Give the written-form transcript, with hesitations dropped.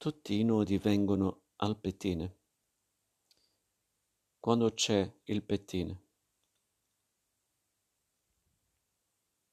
Tutti i nodi vengono al pettine. Quando c'è il pettine.